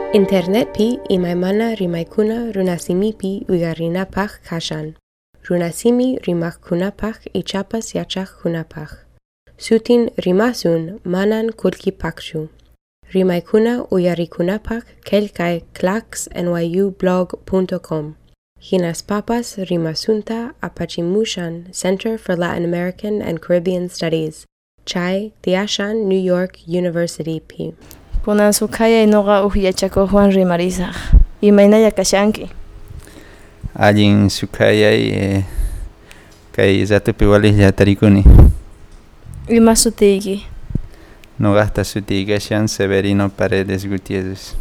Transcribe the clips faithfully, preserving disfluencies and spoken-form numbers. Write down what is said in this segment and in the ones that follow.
Internetpi imaymana rimaykuna runasimipi uyarinapak kashan. Runasimi rimakkunapaq ichapas yachaqkunapaq. Sutin rimasun manan kulkipakshu. Rimaykuna uyarikunapaq kelkay clax n y u blog punto com. Hinas papas rimasunta apachimushan Center for Latin American and Caribbean Studies. Chay Tiashan New York University P. Kunan sukaya inoga uhyachako Juan Rimarizaq. Imaynaya kashanki. Allin sukayay eh, kay zatupi walihlla tarikuni. Ima sutiyki. Nogasta sutiyki kashan Severino Paredes Gutierrez.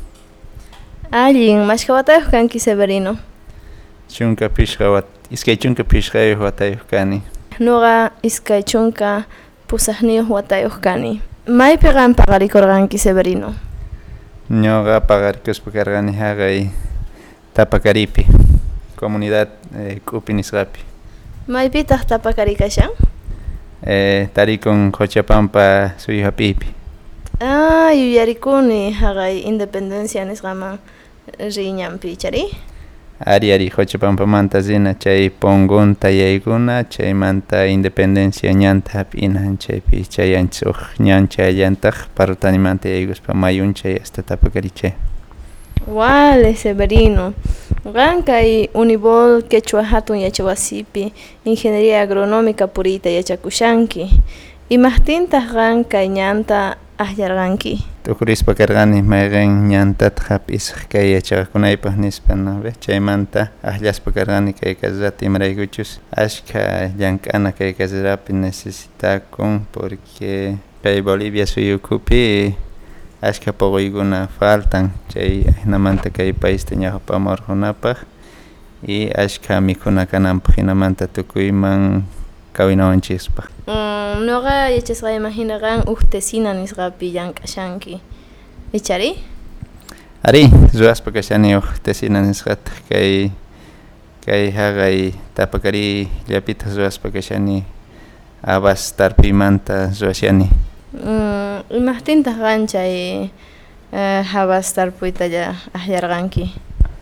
Allin mashkawatayuq kanki Severino. Chunka pishqa iskay chunka pishqayuq watayuq kani. Noqa iskay chunka pusaqniyuq watayuq kani. Maypi qan paqarikurqanki Severino? Ñuqa paqarikuspa karqani haqay Tapakaripi, comunidad eh, K'upi nisqapi. Maypitaq Tapakari kashan? Eh, tarikun Quchapampa suyuhapipi. Ah, yuyarikuni haqay independencia nisqaman riñanpi chari? Ari ari Quchapampamanta zina chay punkunta yaykuna chaymanta independencia ñanta hap'ina chaypi chayanchis uq ñancha allantaq parrutanimanta yaykuspa mayunchay hasta Tapakarichay. Wale Severino. Qan kay Unibol Quechua hatun yachawasipi ingeniería agronómica purita yachakushanki. Imaqtintaq qan kay ñanta ayllarqanki? Tukurispa karqani mayqin ñantata hap'isaq kay yachaqkunaypaq nispa no ve chaymanta ayllaspa karqani kay kasrata imaraykuchus ashka llank'ana kay kasrapi necesitakun porque kay Bolivia suyukupi ashka puquykuna faltan chay hinamanta kay paista ñawpamurqunapaq y ashka mikhuna kananpaq hinamanta tukuyman kawinawanchikpaq. Mm, noqa yachasqayman hina qan uhtesina nisqapi llank'ashanki. Ichari? Ari, ruwaspa kashani uhtesina nisqata kay kay haqay Tapakari llapita ruwaspa kashani abas tarpimanta ruwashani. Mm, imaqtintaq qan chay uh, habas tarpuyta ayllarqanki?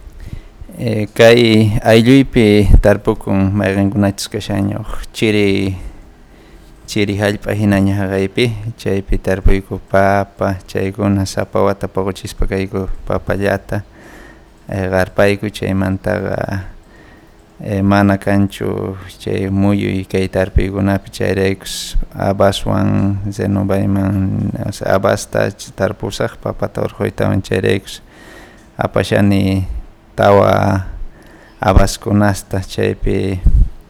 Eh, kay aylluypi tarpukun mayqinkunachus kashaña chiri chiri hallp'a hinaña haqaypi chaypi tarpuyku papa chaykuna sapa wata puquchispa kayku papallata eh, qarpayku chaymantaqa eh, mana kanchu chay muyuy kay tarpuykunapi chayraykus abaswan Zenobayman o sea, abasta tarpusaq papata urquytawan chayraykus apashani tawa abaskunasta chaypi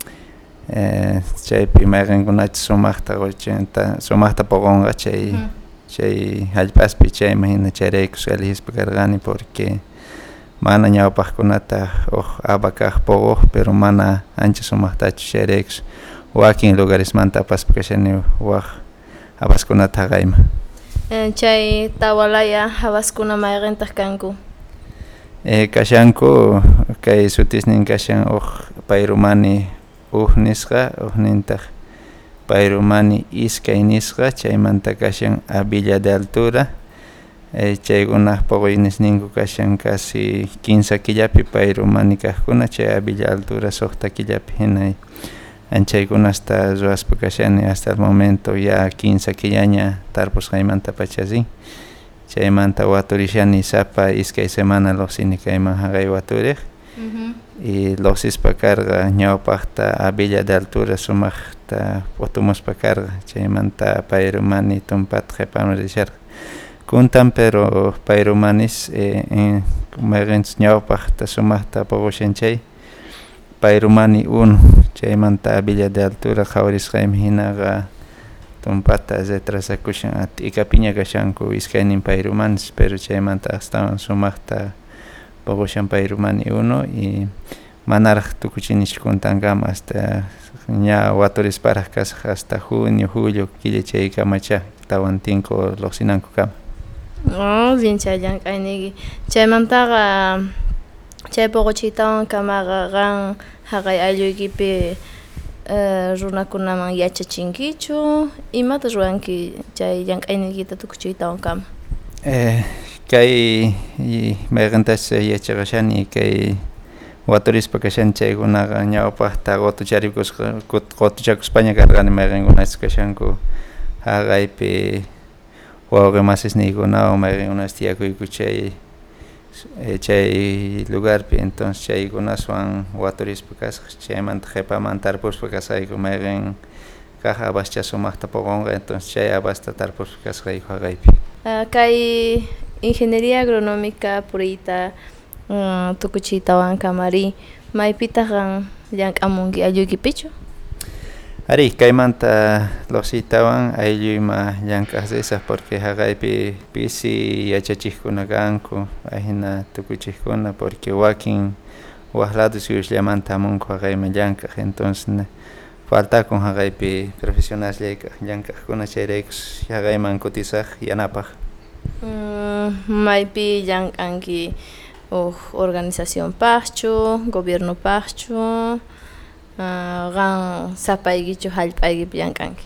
eh, chaypi mayqinkunachus sumaqta ochenta sumaqta puqunqa chay mm. chay hallp'aspi chayman hina chayraykus elihispa karqani porque mana ñawpaqkunata uq aba kaq puquq pero mana ancha sumaqtachu chayraykus wakin lugaresmanta apaspa kashani waq abaskunata haqayman. Eh, chay tawalaya habaskuna mayqintaq kanku? Eh, kashanku kay sutisnin kashan uq payrumani uq nisqa uqnintaq payrumani iskay nisqa chaymanta kashan a Villa de Altura eh, chaykunaq puquynisninku kashan casi quince killapi payrumani kaqkuna chay a Villa Altura suqta killapi hinay anchaykunasta ruwaspa kashani hasta el momento ya quince killaña tarpusqaymanta pachazin. Chaymanta waturishani sapa iskay semana lluqsini kayman haqay waturiq uh-huh. Y lluqsispa karqa ñawpaqta a Villa de Altura sumaqta putumuspa karqa chaymanta payrumani tumpata qhipamurisharqa kuntan pero payrumanis eh, eh, mayqinchis ñawpaqta sumaqta puqushanchay payrumani uno chaymanta a Villa de Altura qhawarisqaymi hinaqa tumpata retrasakushan t'ikapiña kashanku iskaynin payrumanis pero chaymanta astawan sumaqta puqushan payrumani uno y manaraq tukuchinish kuntankama hasta ña waturisparaq kasaq hasta junio julio killa chaykamachá tawantinko lluqsinanku kama. Oh, bien chay llank'ayniki chaymantaqa chay puquchiytawan kamaqa qan haqay aylluykipi Uh, runakunaman yachachinkichu imata ruranki chay llank'aynikita tukuchiytawan kama? Eh, kay mayqantash yachaqashani kay waturispa kashan chaykunaqa ñawpaq taqutucharikusqa qutuchakuspaña karqani mayqinkunapas kashanku haqaypi wawqi masisniykunawan mayqinkunapas tiyakuyku chay chay lugarpi entonces chaykunaswan waturispa kasqa chaymanta qhipamanta tarpuspa kasqayku mayqin kaq abascha sumaqta puqunqa entonces chay abasta tarpuspa kasqayku haqaypi. Uh, kay ingeniería agronómica puriyta uh, tukuchiytawan kamari maypitaqan llank'amunki alluykipichu? Ari kaymanta losiytawan aylluyma llank'asisaq porque haqaypi pisi yachachiqkuna kanku ahina tukuchiqkuna porque wakin waq lado suyusllamanta hamunku haqayman llank'aq entonces faltakun haqaypi profesionales llank'aqkuna chayraykus haqayman kutisaq yanapaq. Mm, maypi llank'anki uh, organización paqchu, gobierno paqchu, uh, qan sapaykichu hallp'aykipi llank'anki?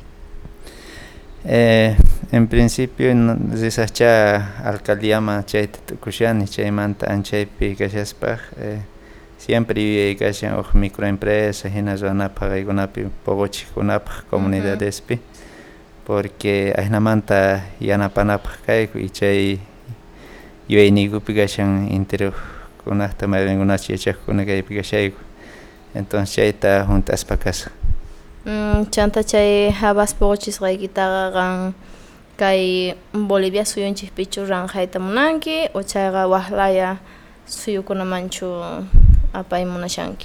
Eh, en principio risaqcha alcaldiaman chayta tukushani chaymanta anchaypi kashaspaq eh, siempre yuyay kashan uq microempresa hina ruwanapaq kaykunapi puquchiqkunapaq comunidadespi porque ahinamanta yanapanapaq kayku y chay yuyayniykupi kashan interiorkunaqta mayqinkunapas yachaqkuna kaypi kashayku entonces chayta juntaspa kasqa. Mm, chanta chay habas puquchisqaykitaqa qan kay Bolivia suyunchikpichu ranjayta munanki o chayqa waqlaya suyukunamanchu apay munashanki?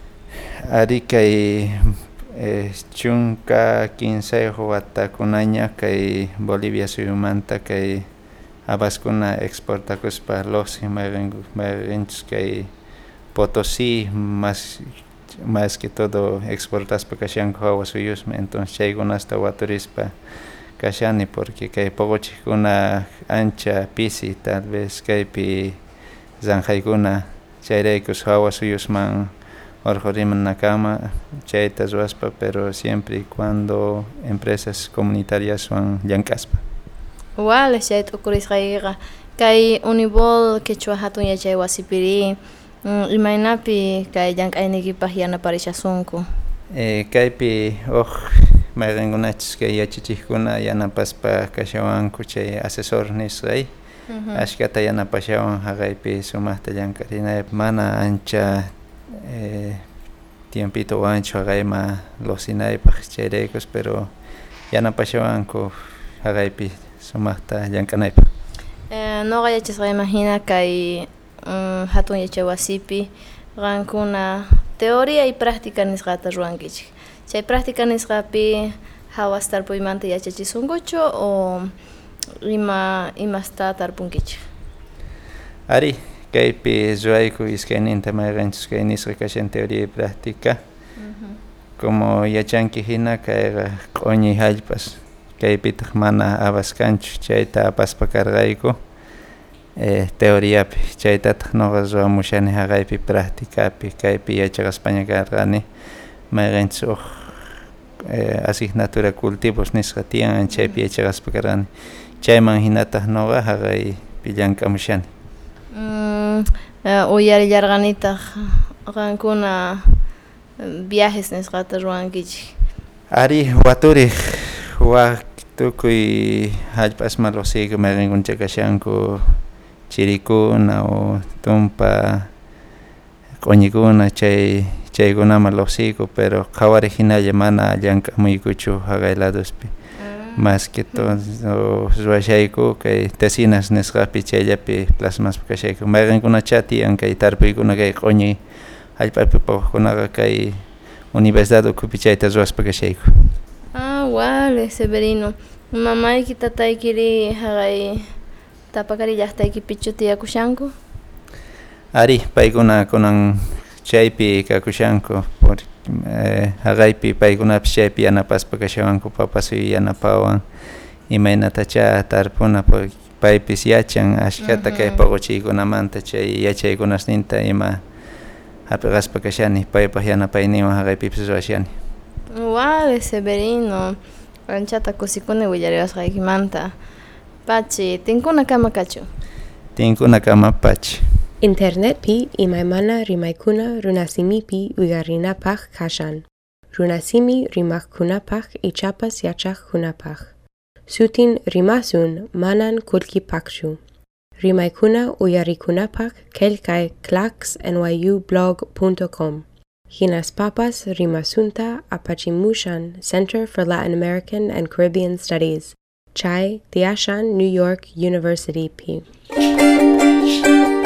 Ari kay eh, chunka quinsayuq watakunaña kay Bolivia suyumanta kay habaskuna exportakuspa losi mayqinchus kay Potosí más más que todo exportaspa kashanku hawa suyusmi entonces chaykunasta waturispa kashani porque kay puquchiqkuna ancha pisi tal vez kaypi zanjaykuna chayraykus hawa suyusman urqurimunakama chayta ruwaspa pero siempre y cuando empresas comunitariaswan llank'aspa. Wale chayta ukurisqaykiqa kay Unibol Quechua hatun yachay wasipiri mm, imaynapi kay llank'aynikipaq yanaparishasunku? Eh, kaypi uq mayqinkunachus kay yachachiqkuna yanapaspa kashawanku chay asesor nisqay ashkata yanapashawan haqaypi sumaqta llank'arinaypaq mana ancha eh, tiempito ancho haqayman losinaypaq chayraykus pero yanapashawanku haqaypi sumaqta llank'anaypaq. Eh, noqa yachasqayman hina kay um, hatun yachay wasipi qankuna teoría y práctica nisqata ruwankichik chay práctica nisqapi hawas tarpuymanta yachachisunkuchu o ima imasta tarpunkichik? Ari kaypi ruwayku iskayninta mayqanchus kay nisqa kashan teoría y práctica uh-huh. Como yachanki hina kayqa q'uñi hallp'as kaypitaq mana abas kanchu chayta apaspa karqayku eh, teoriapi chaytataq noqa ruwamushani haqaypi practicapi kaypi yachaqaspaña karqani mayqanchus uq eh, asignatura cultivos nisqa tiyan chaypi yachaqaspa karqani chayman hinataq noqa haqaypi llank'amushani. Mm, uh, uyarillarqanitaq qankuna viajes nisqata ruwankichik? Ari waturiq waq tukuy hallp'asman losiyku mayqinkuncha kashanku chirikuna o tumpa q'uñikuna chay chaykunaman losiyku pero qhawari hinalla mana llank'amuykuchu haqay ladospi más que todo ruwashayku kay tesinas nisqapi chayllapi plasmaspa kashayku mayqinkunacha tiyan kay tarpuykuna kay q'uñi hallp'api puquqkunaqa kay universidad ukupi chayta ruwaspa kashayku. Ah, vale, Severino. Mamayki tataykiri haqay tapakari llaqtaykipichu tiyakushanku? Ari paykuna kunan chaypi kakushanku por eh, haqaypi paykunapish chaypi yanapaspa kashawanku papasuy yanapawan imaynatacha tarpuna paypis yachan ashkata kay puquchiykunamanta chay yachaykunasninta ima hapiqaspa kashani paypaq yanapayninwan haqaypipis ruwashani. Vale, Severino. Anchata kusikuni willariwasqaykimanta Pachi, tinkuna kama kachu. Tinkuna kama pachi. Internet pi imaymana rimaykuna runasimipi uygarinapaq kashan. Runasimi rimakkunapaq ichapas yachaqkunapaq. Sutin rimasun manan kulkipaqchu. Rimaykuna uyarikunapaq kelkay clax n y u blog punto com. Hinas papas rimasunta apachimushan Center for Latin American and Caribbean Studies. Chai Tiashan New York University P.